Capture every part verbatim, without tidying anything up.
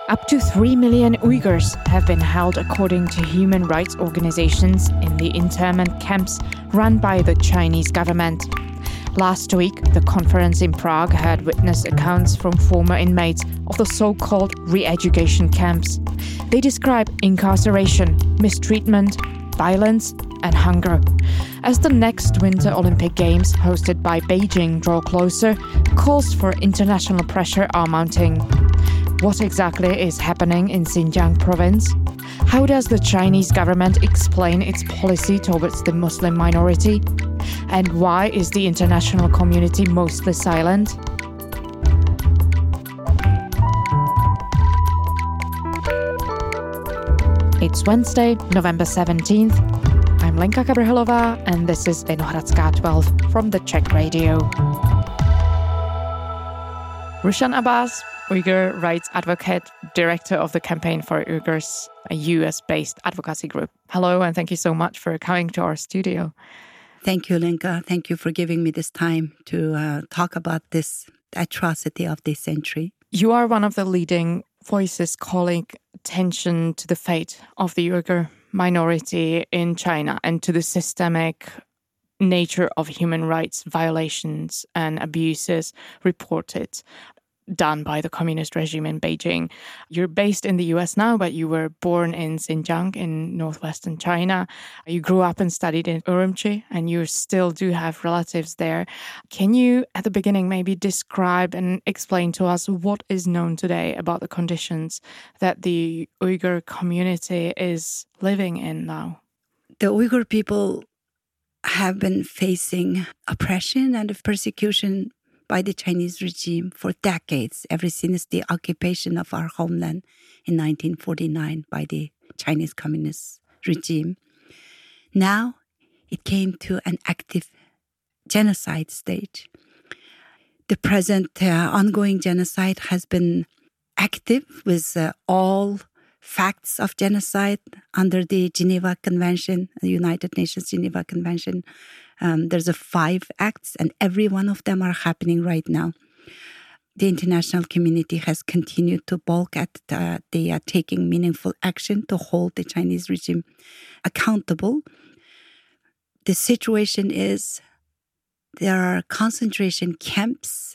Up to three million Uyghurs have been held according to human rights organizations in the internment camps run by the Chinese government. Last week, the conference in Prague heard witness accounts from former inmates of the so-called re-education camps. They describe incarceration, mistreatment, violence, and hunger. As the next Winter Olympic Games, hosted by Beijing, draw closer, calls for international pressure are mounting. What exactly is happening in Xinjiang province? How does the Chinese government explain its policy towards the Muslim minority? And why is the international community mostly silent? It's Wednesday, November seventeenth. I'm Lenka Kabrhelová, and this is Vinohradská twelve from the Czech Radio. Rushan Abbas, Uyghur rights advocate, director of the Campaign for Uyghurs, a U S-based advocacy group. Hello, and thank you so much for coming to our studio. Thank you, Lenka. Thank you for giving me this time to uh, talk about this atrocity of this century. You are one of the leading voices calling attention to the fate of the Uyghur minority in China and to the systemic nature of human rights violations and abuses reported, done by the communist regime in Beijing. You're based in the U S now, but you were born in Xinjiang in northwestern China. You grew up and studied in Urumqi, and you still do have relatives there. Can you, at the beginning, maybe describe and explain to us what is known today about the conditions that the Uyghur community is living in now? The Uyghur people have been facing oppression and persecution by the Chinese regime for decades, ever since the occupation of our homeland in nineteen forty-nine by the Chinese Communist regime. Now, it came to an active genocide stage. The present uh, ongoing genocide has been active with uh, all facts of genocide under the Geneva Convention, the United Nations Geneva Convention. Um, there's a five acts, and every one of them are happening right now. The international community has continued to balk at uh, they are taking meaningful action to hold the Chinese regime accountable. The situation is there are concentration camps,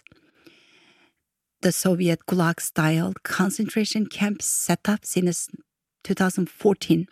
the Soviet Gulag-style concentration camps set up since two thousand fourteen.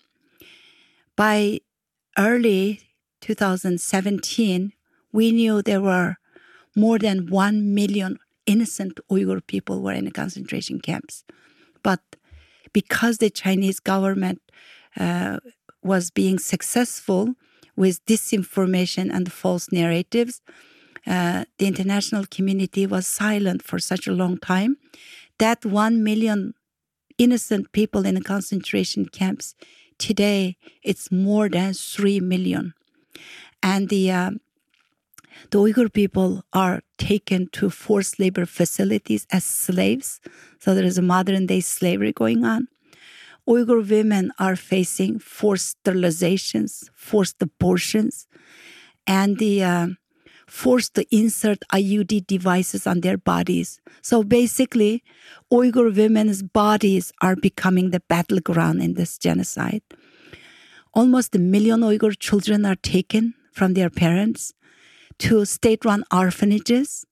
By early two thousand seventeen, we knew there were more than one million innocent Uyghur people were in the concentration camps. But because the Chinese government uh, was being successful with disinformation and false narratives, uh, the international community was silent for such a long time. That one million innocent people in the concentration camps, today it's more than three million. And the uh, the Uyghur people are taken to forced labor facilities as slaves. So there is a modern-day slavery going on. Uyghur women are facing forced sterilizations, forced abortions, and the uh, forced to insert I U D devices on their bodies. So basically, Uyghur women's bodies are becoming the battleground in this genocide. Almost a million Uyghur children are taken from their parents to state-run orphanages.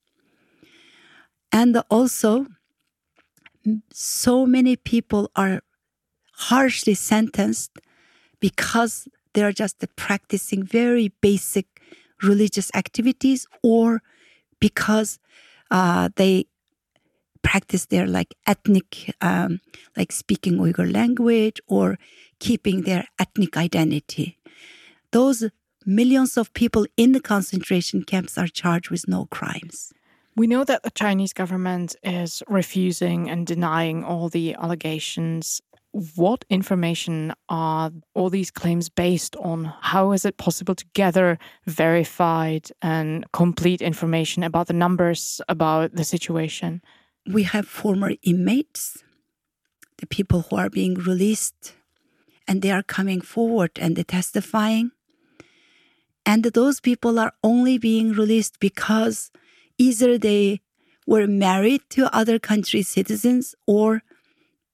And also, so many people are harshly sentenced because they're just practicing very basic religious activities, or because uh, they practice their like ethnic, um, like speaking Uyghur language or keeping their ethnic identity. Those millions of people in the concentration camps are charged with no crimes. We know that the Chinese government is refusing and denying all the allegations. What information are all these claims based on? How is it possible to gather verified and complete information about the numbers, about the situation? We have former inmates, the people who are being released, and they are coming forward and they're testifying. And those people are only being released because either they were married to other countries' citizens, or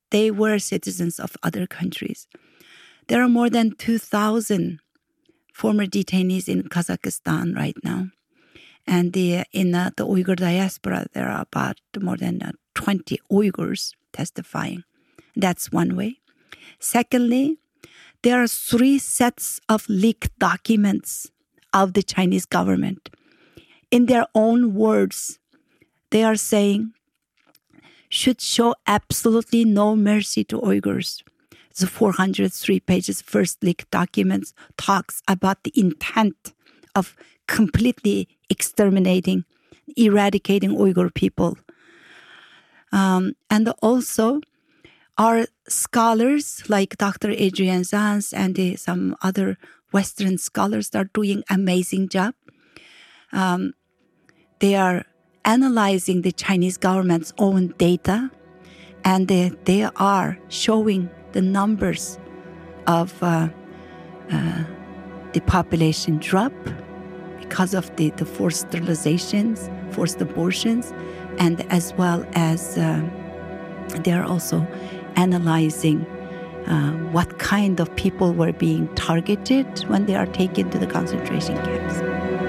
they were citizens of other countries. There are more than two thousand former detainees in Kazakhstan right now. And the, in uh, the Uyghur diaspora, there are about more than uh, twenty Uyghurs testifying. That's one way. Secondly, there are three sets of leaked documents of the Chinese government. In their own words, they are saying, should show absolutely no mercy to Uyghurs. The four hundred three pages first leaked documents talks about the intent of completely exterminating, eradicating Uyghur people. Um, and also, our scholars like Doctor Adrian Zanz and uh, some other Western scholars are doing amazing job. Um, they are analyzing the Chinese government's own data, and they, they are showing the numbers of uh, uh, the population drop because of the, the forced sterilizations, forced abortions, and as well as uh, they are also analyzing uh, what kind of people were being targeted when they are taken to the concentration camps.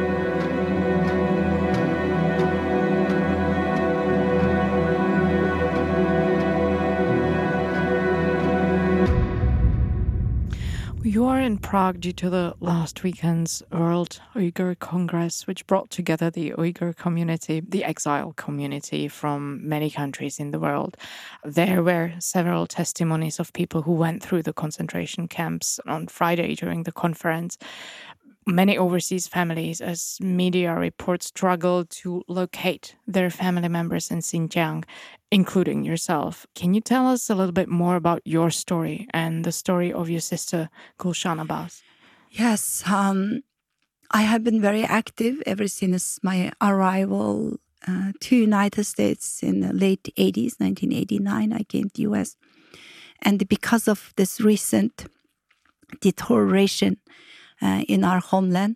You are in Prague due to the last weekend's World Uyghur Congress, which brought together the Uyghur community, the exile community from many countries in the world. There were several testimonies of people who went through the concentration camps on Friday during the conference. Many overseas families, as media reports, struggled to locate their family members in Xinjiang, including yourself. Can you tell us a little bit more about your story and the story of your sister, Gulshan Abbas? Yes, um, I have been very active ever since my arrival uh, to United States in the late eighties, nineteen eighty-nine. I came to U S. And because of this recent deterioration Uh, in our homeland,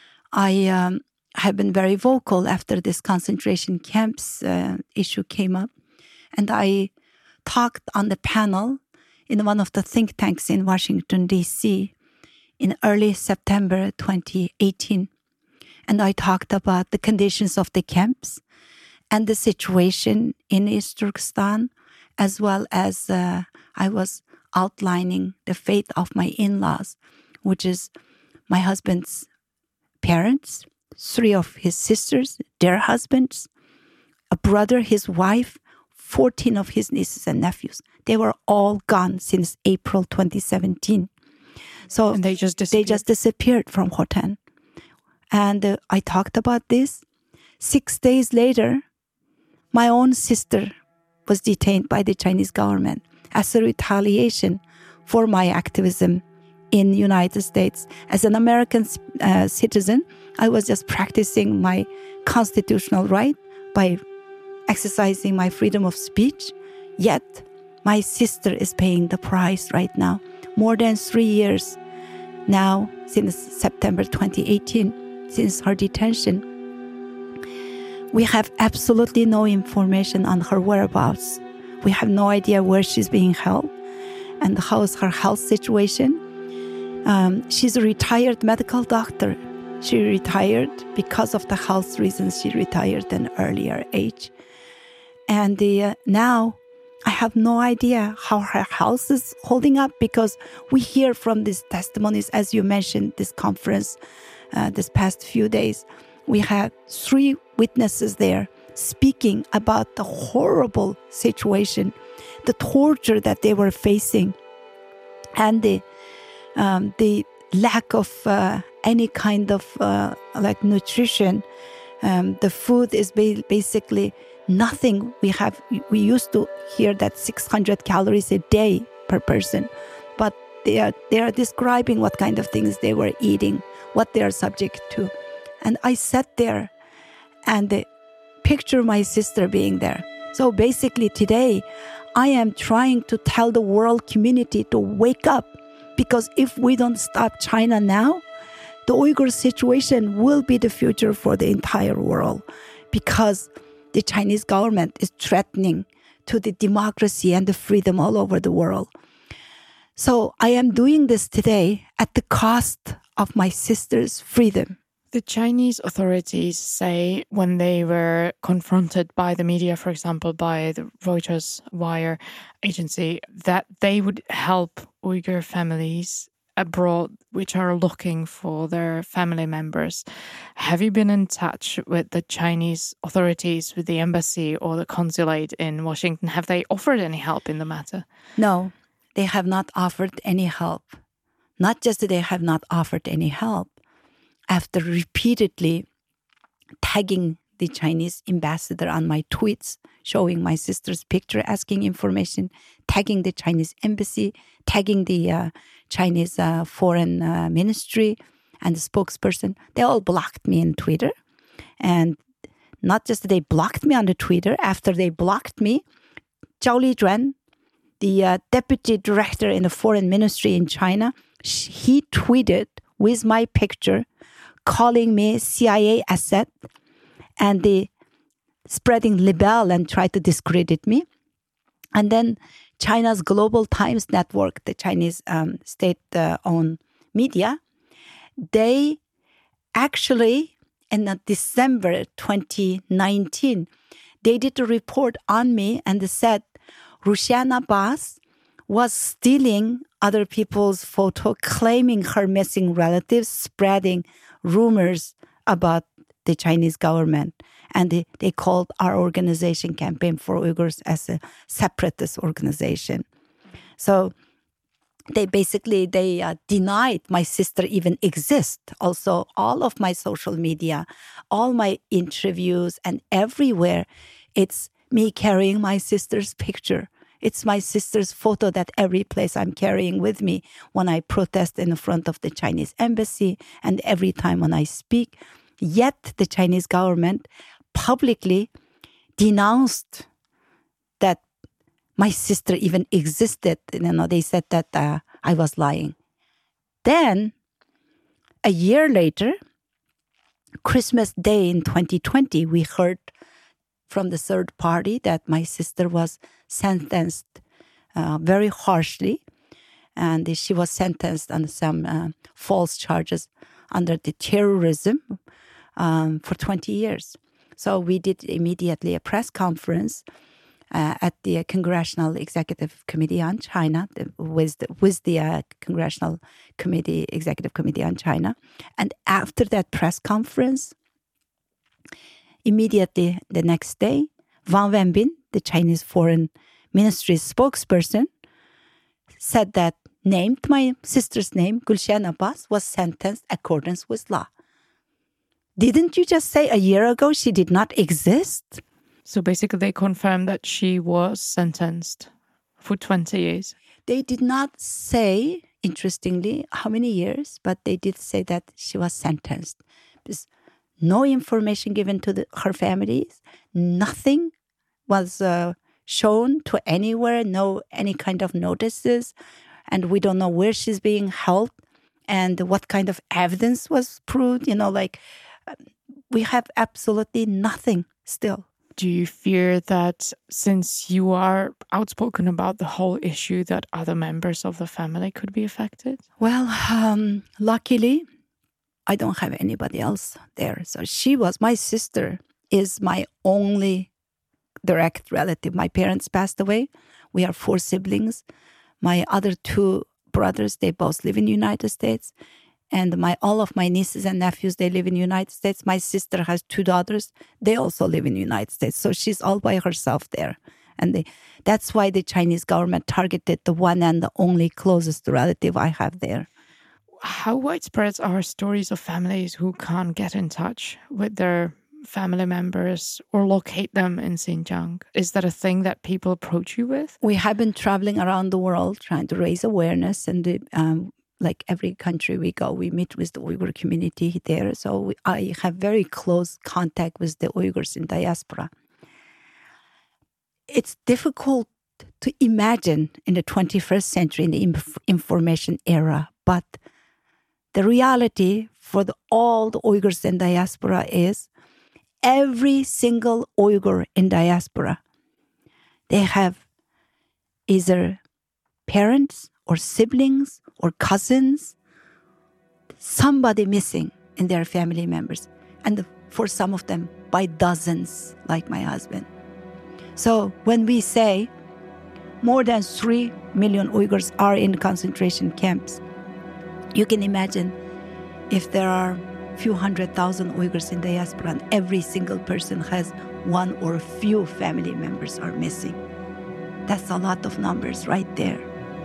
I um, have been very vocal after this concentration camps uh, issue came up. And I talked on the panel in one of the think tanks in Washington, D C in early September twenty eighteen. And I talked about the conditions of the camps and the situation in East Turkestan, as well as uh, I was outlining the fate of my in-laws, which is my husband's parents, three of his sisters, their husbands, a brother, his wife, fourteen of his nieces and nephews. They were all gone since April twenty seventeen. So and they just disappeared. They just disappeared from Hotan. And uh, I talked about this. Six days later, my own sister was detained by the Chinese government as a retaliation for my activism in the United States. As an American uh, citizen, I was just practicing my constitutional right by exercising my freedom of speech. Yet, my sister is paying the price right now. More than three years now, since September twenty eighteen, since her detention, we have absolutely no information on her whereabouts. We have no idea where she's being held and how is her health situation. Um, she's a retired medical doctor. She retired because of the health reasons. She retired at an earlier age. And uh, now I have no idea how her health is holding up, because we hear from these testimonies, as you mentioned, this conference, uh, this past few days, we had three witnesses there speaking about the horrible situation, the torture that they were facing, and the Um, the lack of uh, any kind of uh, like nutrition. Um, the food is ba- basically nothing. We have we used to hear that six hundred calories a day per person, but they are they are describing what kind of things they were eating, what they are subject to. And I sat there and uh, picture my sister being there. So basically today, I am trying to tell the world community to wake up. Because if we don't stop China now, the Uyghur situation will be the future for the entire world. Because the Chinese government is threatening to the democracy and the freedom all over the world. So I am doing this today at the cost of my sister's freedom. The Chinese authorities say when they were confronted by the media, for example, by the Reuters wire agency, that they would help Uyghur families abroad which are looking for their family members. Have you been in touch with the Chinese authorities, with the embassy or the consulate in Washington? Have they offered any help in the matter? No, they have not offered any help. Not just that they have not offered any help. After repeatedly tagging the Chinese ambassador on my tweets, showing my sister's picture, asking information, tagging the Chinese embassy, tagging the uh, Chinese uh, foreign uh, ministry and the spokesperson, they all blocked me on Twitter. And not just that they blocked me on the Twitter, after they blocked me, Zhao Lijuan, the uh, deputy director in the foreign ministry in China, he tweeted with my picture, calling me C I A asset and the spreading libel and try to discredit me. And then China's Global Times Network, the Chinese um, state-owned media, they actually, in uh, December twenty nineteen, they did a report on me and they said Rushan Abbas was stealing other people's photo, claiming her missing relatives, spreading rumors about the Chinese government. And they, they called our organization, Campaign for Uyghurs, as a separatist organization. So they basically, they uh, denied my sister even exists. Also, all of my social media, all my interviews and everywhere, it's me carrying my sister's picture. It's my sister's photo that every place I'm carrying with me when I protest in front of the Chinese embassy and every time when I speak. Yet the Chinese government publicly denounced that my sister even existed. You know, they said that uh, I was lying. Then, a year later, Christmas Day in twenty twenty, we heard from the third party that my sister was sentenced uh, very harshly, and she was sentenced on some uh, false charges under the terrorism um, for twenty years. So we did immediately a press conference uh, at the Congressional Executive Committee on China, the, with the, with the uh, Congressional Committee, Executive Committee on China. And after that press conference, immediately the next day, Wang Wenbin, the Chinese Foreign Ministry spokesperson, said that named my sister's name, Gulshan Abbas, was sentenced accordance with law. Didn't you just say a year ago she did not exist? So basically they confirmed that she was sentenced for twenty years. They did not say, interestingly, how many years, but they did say that she was sentenced. Because no information given to the, her families, nothing was uh, shown to anywhere, no any kind of notices, and we don't know where she's being held and what kind of evidence was proved. You know, like we have absolutely nothing still. Do you fear that since you are outspoken about the whole issue that other members of the family could be affected? Well, um, luckily, I don't have anybody else there. So she was, my sister is my only direct relative. My parents passed away. We are four siblings. My other two brothers, they both live in the United States. And my all of my nieces and nephews, they live in the United States. My sister has two daughters. They also live in the United States. So she's all by herself there. And they, that's why the Chinese government targeted the one and the only closest relative I have there. How widespread are stories of families who can't get in touch with their family members or locate them in Xinjiang? Is that a thing that people approach you with? We have been traveling around the world trying to raise awareness, and the, um, like every country we go, we meet with the Uyghur community there. So we, I have very close contact with the Uyghurs in diaspora. It's difficult to imagine in the twenty-first century, in the inf- information era, but the reality for the, all the Uyghurs in diaspora is every single Uyghur in diaspora, They have either parents or siblings or cousins, somebody missing in their family members. And for some of them, by dozens, like my husband. So when we say more than three million Uyghurs are in concentration camps, you can imagine if there are a few hundred thousand Uyghurs in the diaspora and every single person has one or a few family members are missing. That's a lot of numbers right there.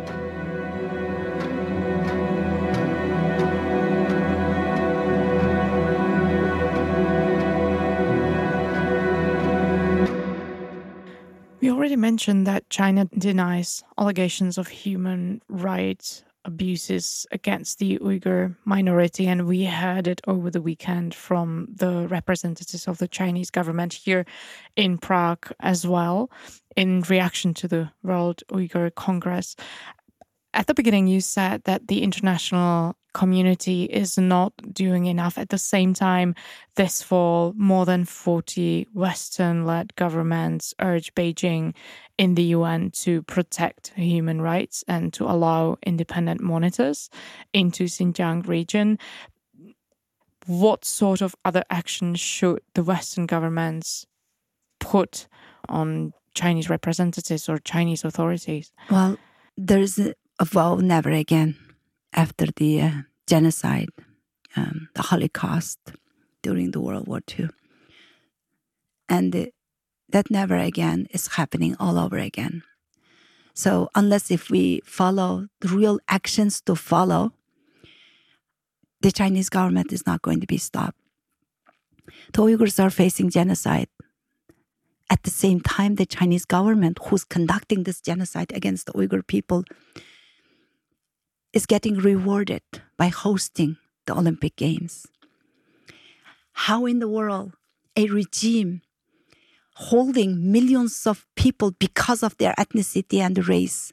We already mentioned that China denies allegations of human rights abuses against the Uyghur minority, and we heard it over the weekend from the representatives of the Chinese government here in Prague as well, in reaction to the World Uyghur Congress. At the beginning, you said that the international community is not doing enough. At the same time, this fall, more than forty Western-led governments urged Beijing in the U N to protect human rights and to allow independent monitors into Xinjiang region. What sort of other actions should the Western governments put on Chinese representatives or Chinese authorities? Well, there's a, a vow never again after the uh, genocide, um, the Holocaust during the World War Two. And the, that never again is happening all over again. So unless if we follow the real actions to follow, the Chinese government is not going to be stopped. The Uyghurs are facing genocide. At the same time, the Chinese government, who's conducting this genocide against the Uyghur people, is getting rewarded by hosting the Olympic Games. How in the world a regime holding millions of people because of their ethnicity and race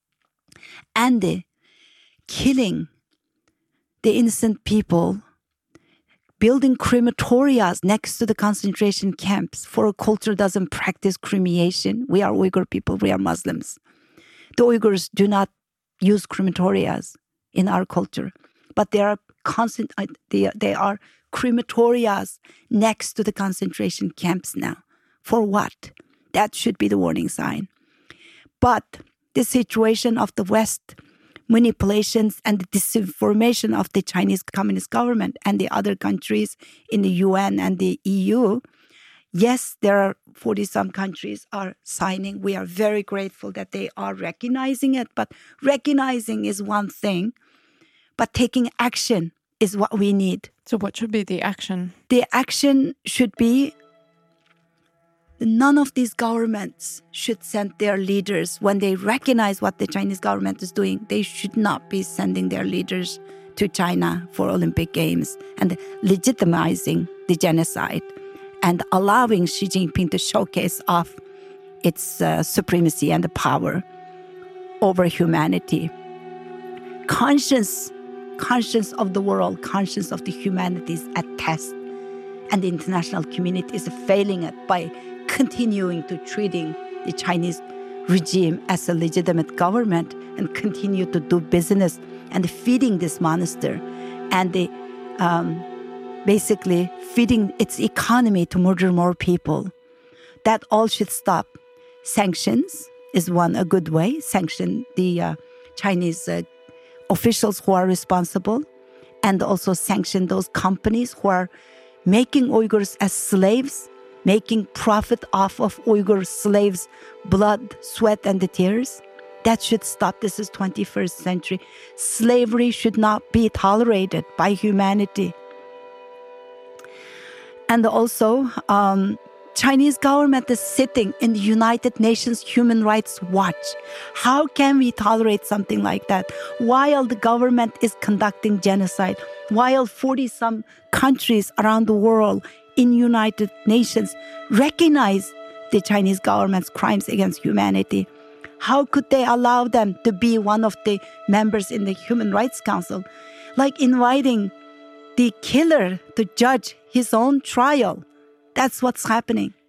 and uh, killing the innocent people, building crematorias next to the concentration camps for a culture doesn't practice cremation. We are Uyghur people, we are Muslims. The Uyghurs do not use crematorias in our culture, but there are constant, they, they are crematorias next to the concentration camps now. For what? That should be the warning sign. But the situation of the West, manipulations and the disinformation of the Chinese Communist government and the other countries in the U N and the E U, yes, there are forty-some countries are signing. We are very grateful that they are recognizing it, but recognizing is one thing, but taking action is what we need. So what should be the action? The action should be none of these governments should send their leaders when they recognize what the Chinese government is doing. They should not be sending their leaders to China for Olympic Games and legitimizing the genocide and allowing Xi Jinping to showcase off its uh, supremacy and the power over humanity. Conscience, conscience of the world, conscience of the humanity is at test. And the international community is failing it by continuing to treating the Chinese regime as a legitimate government and continue to do business and feeding this monster and the, um, basically feeding its economy to murder more people. That all should stop. Sanctions is one, a good way. Sanction the uh, Chinese uh, officials who are responsible and also sanction those companies who are making Uyghurs as slaves, making profit off of Uyghur slaves' blood, sweat, and the tears. That should stop. This is twenty-first century. Slavery should not be tolerated by humanity. And also, um, Chinese government is sitting in the United Nations Human Rights Watch. How can we tolerate something like that? While the government is conducting genocide, while forty-some countries around the world in United Nations recognize the Chinese government's crimes against humanity, how could they allow them to be one of the members in the Human Rights Council? Like inviting the killer to judge his own trial. That's what's happening.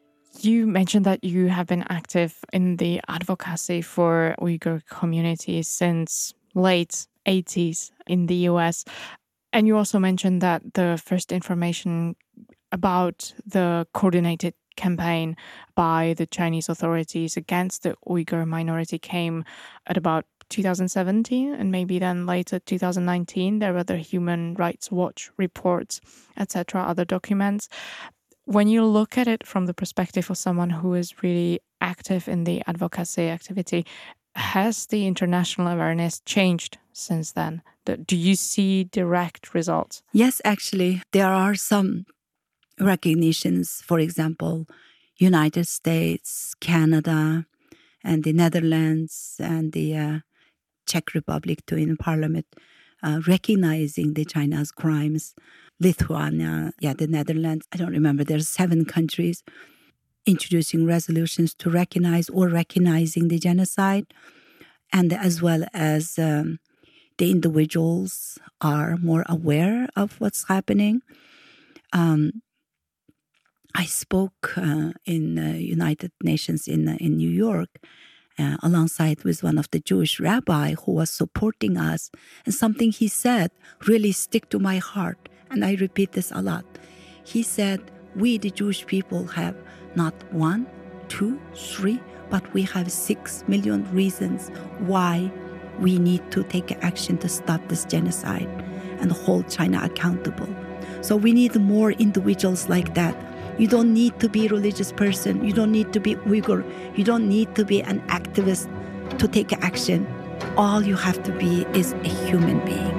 You mentioned that you have been active in the advocacy for Uyghur communities since late eighties in the U S. And you also mentioned that the first information about the coordinated campaign by the Chinese authorities against the Uyghur minority came at about two thousand seventeen, and maybe then later two thousand nineteen. There were the Human Rights Watch reports, et cetera, other documents. When you look at it from the perspective of someone who is really active in the advocacy activity, has the international awareness changed since then? Do you see direct results? Yes, actually, there are some recognitions. For example, United States, Canada, and the Netherlands, and the uh, Czech Republic too in Parliament, uh, recognizing the China's crimes. Lithuania, yeah, the Netherlands, I don't remember, there's seven countries introducing resolutions to recognize or recognizing the genocide, and as well as um, the individuals are more aware of what's happening. Um, I spoke uh, in uh, United Nations in uh, in New York uh, alongside with one of the Jewish rabbi who was supporting us, and something he said really stick to my heart, and I repeat this a lot. He said, we, the Jewish people, have not one, two, three, but we have six million reasons why we need to take action to stop this genocide and hold China accountable. So we need more individuals like that. You don't need to be a religious person. You don't need to be Uyghur. You don't need to be an activist to take action. All you have to be is a human being.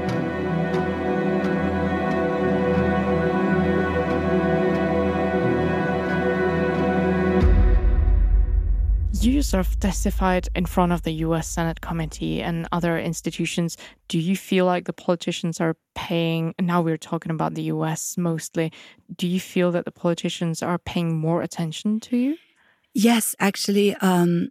You sort of testified in front of the U S Senate committee and other institutions. Do you feel like the politicians are paying, now we're talking about the U S mostly, do you feel that the politicians are paying more attention to you? Yes, actually, um,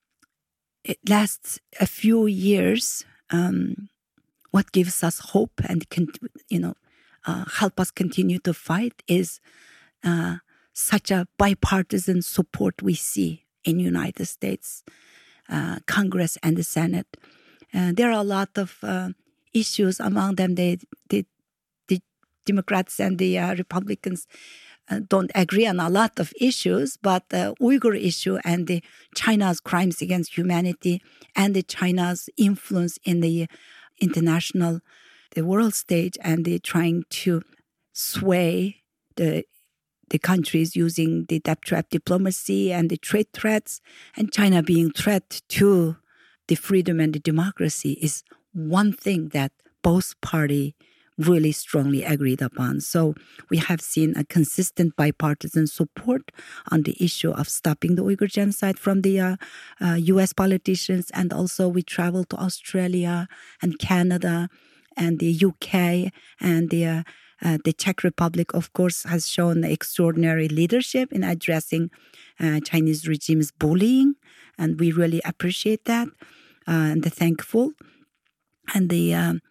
it lasts a few years. Um, what gives us hope and, can, you know, uh, help us continue to fight is uh, such a bipartisan support we see in United States, uh, Congress and the Senate. Uh, there are a lot of uh, issues, among them the, the, the Democrats and the uh, Republicans uh, don't agree on a lot of issues, but the Uyghur issue and the China's crimes against humanity and the China's influence in the international, the world stage, and the trying to sway the the countries using the debt trap diplomacy and the trade threats, and China being threat to the freedom and the democracy is one thing that both parties really strongly agreed upon. So we have seen a consistent bipartisan support on the issue of stopping the Uyghur genocide from the uh, uh, U S politicians, and also we traveled to Australia and Canada and the U K and the uh, Uh, the Czech Republic, of course, has shown extraordinary leadership in addressing uh, Chinese regime's bullying, and we really appreciate that uh, and are thankful. And the um,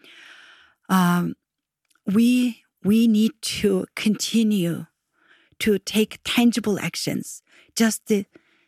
um, we we need to continue to take tangible actions. Just the,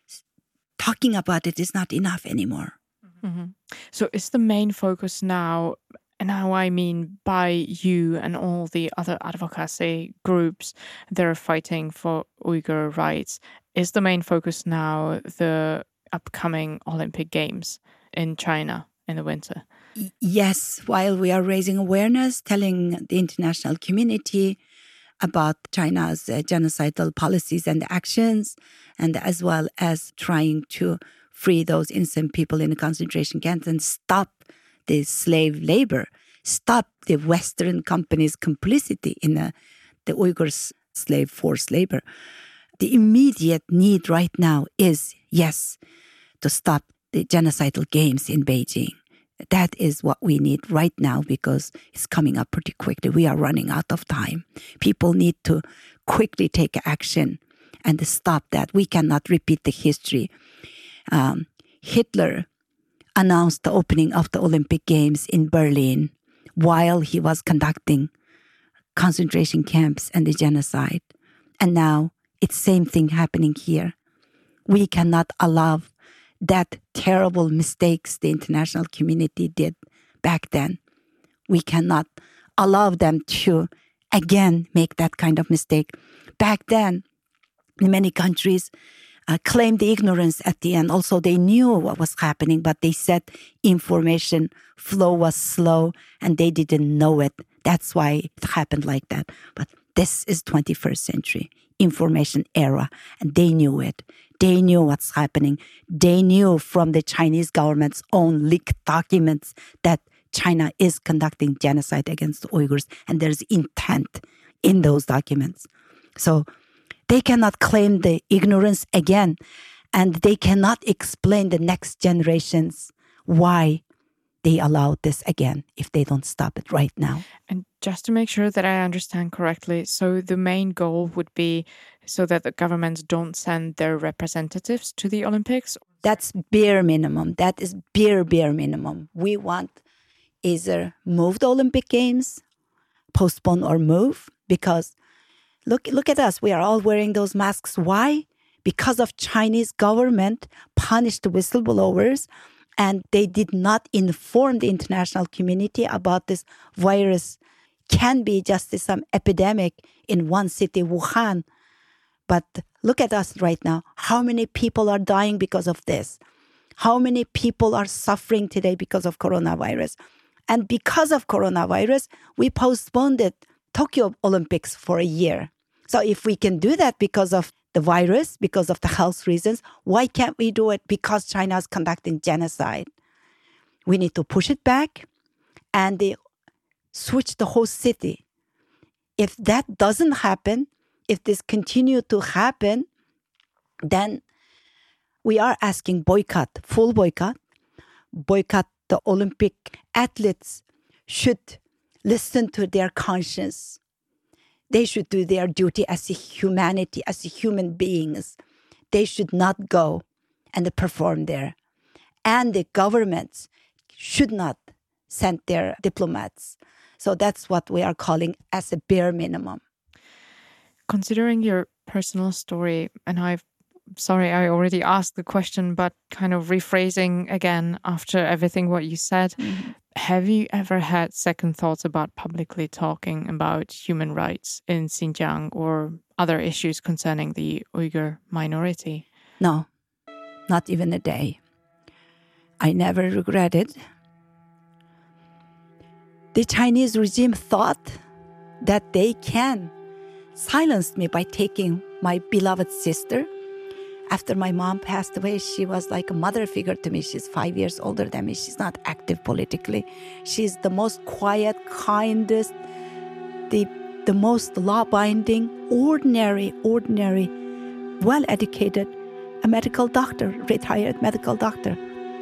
talking about it is not enough anymore. Mm-hmm. So, is the main focus now? And now I mean by you and all the other advocacy groups that are fighting for Uyghur rights, is the main focus now the upcoming Olympic Games in China in the winter? Yes, while we are raising awareness, telling the international community about China's uh, genocidal policies and actions, and as well as trying to free those innocent people in the concentration camps and stop the slave labor, stop the Western companies' complicity in the, the Uyghur slave forced labor. The immediate need right now is, yes, to stop the genocidal games in Beijing. That is what we need right now because it's coming up pretty quickly. We are running out of time. People need to quickly take action and stop that. We cannot repeat the history. Um, Hitler announced the opening of the Olympic Games in Berlin while he was conducting concentration camps and the genocide. And now it's same thing happening here. We cannot allow that terrible mistakes the international community did back then. We cannot allow them to again make that kind of mistake. Back then, many countries uh, claimed the ignorance at the end. Also, they knew what was happening, but they said information flow was slow and they didn't know it. That's why it happened like that. But this is twenty-first century information era, and they knew it. They knew what's happening. They knew from the Chinese government's own leaked documents that China is conducting genocide against the Uyghurs, and there's intent in those documents. So they cannot claim the ignorance again, and they cannot explain the next generations why they allowed this again if they don't stop it right now. And just to make sure that I understand correctly, so the main goal would be so that the governments don't send their representatives to the Olympics? That's bare minimum. That is bare, bare minimum. We want either move the Olympic Games, postpone or move, because look, look at us. We are all wearing those masks. Why? Because of Chinese government punished whistleblowers, and they did not inform the international community about this virus. Can be just some epidemic in one city, Wuhan. But look at us right now. How many people are dying because of this? How many people are suffering today because of coronavirus? And because of coronavirus, we postponed the Tokyo Olympics for a year. So if we can do that because of the virus, because of the health reasons, why can't we do it because China is conducting genocide? We need to push it back and they switch the whole city. If that doesn't happen, if this continue to happen, then we are asking boycott, full boycott, boycott the Olympic athletes should listen to their conscience. They should do their duty as a humanity, as a human beings. They should not go and perform there. And the governments should not send their diplomats. So that's what we are calling as a bare minimum. Considering your personal story, and I've sorry, I already asked the question, but kind of rephrasing again after everything what you said, mm-hmm. Have you ever had second thoughts about publicly talking about human rights in Xinjiang or other issues concerning the Uyghur minority? No, not even a day. I never regretted. The Chinese regime thought that they can silence me by taking my beloved sister. After my mom passed away, she was like a mother figure to me. She's five years older than me. She's not active politically. She's the most quiet, kindest, the, the most law-binding, ordinary, ordinary, well-educated, a medical doctor, retired medical doctor.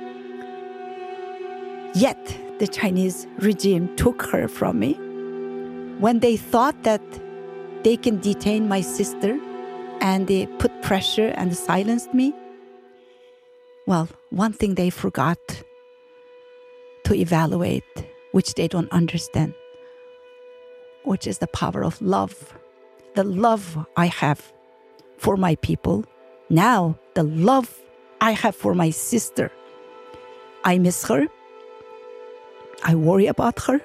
Yet, the Chinese regime took her from me when they thought that they can detain my sister and they put pressure and silenced me. Well, one thing they forgot to evaluate, which they don't understand, which is the power of love. The love I have for my people. Now, the love I have for my sister. I miss her. I worry about her.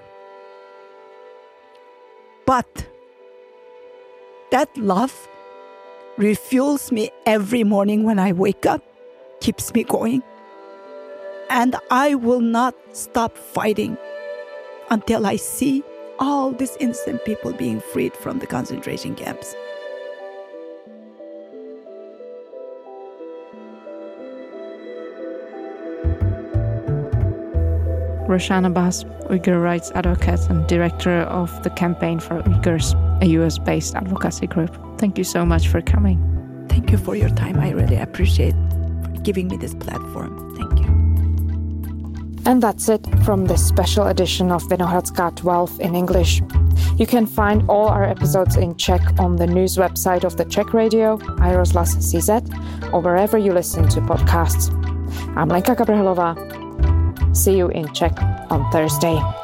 But that love refuels me every morning when I wake up, keeps me going. And I will not stop fighting until I see all these innocent people being freed from the concentration camps. Roshan Abbas, Uyghur rights advocate and director of the Campaign for Uyghurs, a U S-based advocacy group. Thank you so much for coming. Thank you for your time. I really appreciate giving me this platform. Thank you. And that's it from this special edition of Vinohradská twelve in English. You can find all our episodes in Czech on the news website of the Czech radio, i rozhlas tečka cé zet, or wherever you listen to podcasts. I'm Lenka Kabrhelová. See you in Czech on Thursday.